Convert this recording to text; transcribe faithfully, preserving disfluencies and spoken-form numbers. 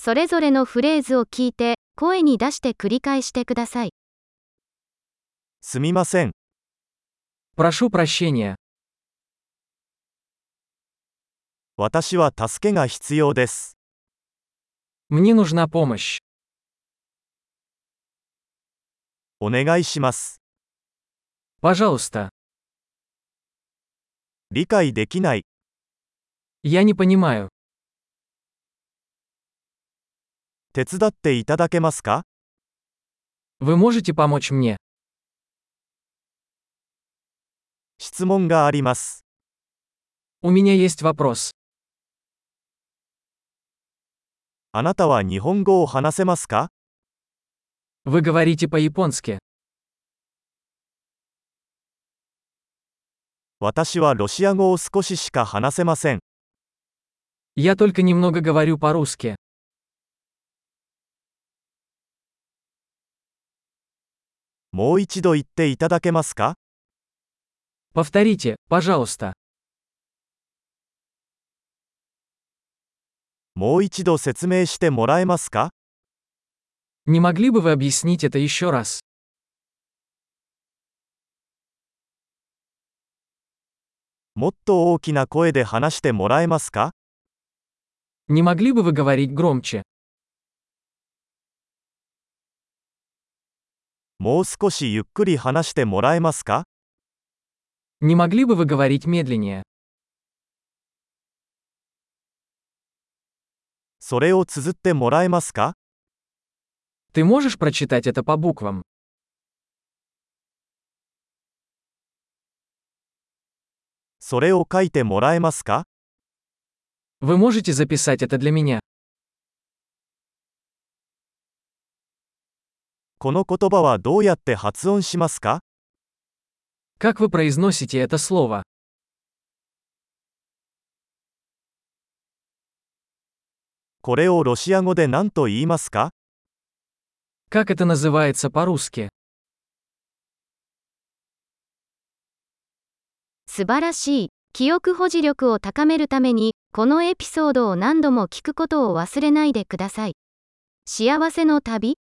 それぞれのフレーズを聞いて、声に出して繰り返してください。 すみません。 Прошу прощения. 私は助けが必要です。 Мне нужна помощь. お願いします。 Пожалуйста. 理解できない。 Я не понимаю. 手伝っていただけますか？ Вы можете помочь мне? 質問があります。 У меня есть вопрос. あなたは日本語を話せますか？ Вы говорите по-японски. 私はロシア語を少ししか話せません。 Я только немного говорю по-русски. もう一度言っていただけますか？ Повторите, пожалуйста. もう一度説明してもらえますか？ Не могли бы вы объяснить это еще раз? もっと大きな声で話してもらえますか？ Не могли бы вы говорить громче? もう少しゆっくり話してもらえますか？ Не могли бы вы говорить медленнее? それを綴ってもらえますか？ Ты можешь прочитать это по буквам? それを書いてもらえますか？ Вы можете записать это для меня? この言葉はどうやって発音しますか？ Как вы произносите это слово? これをロシア語で何と言いますか？ Как это называется по-русски? 素晴らしい。記憶保持力を高めるために、このエピソードを何度も聞くことを忘れないでください。幸せの旅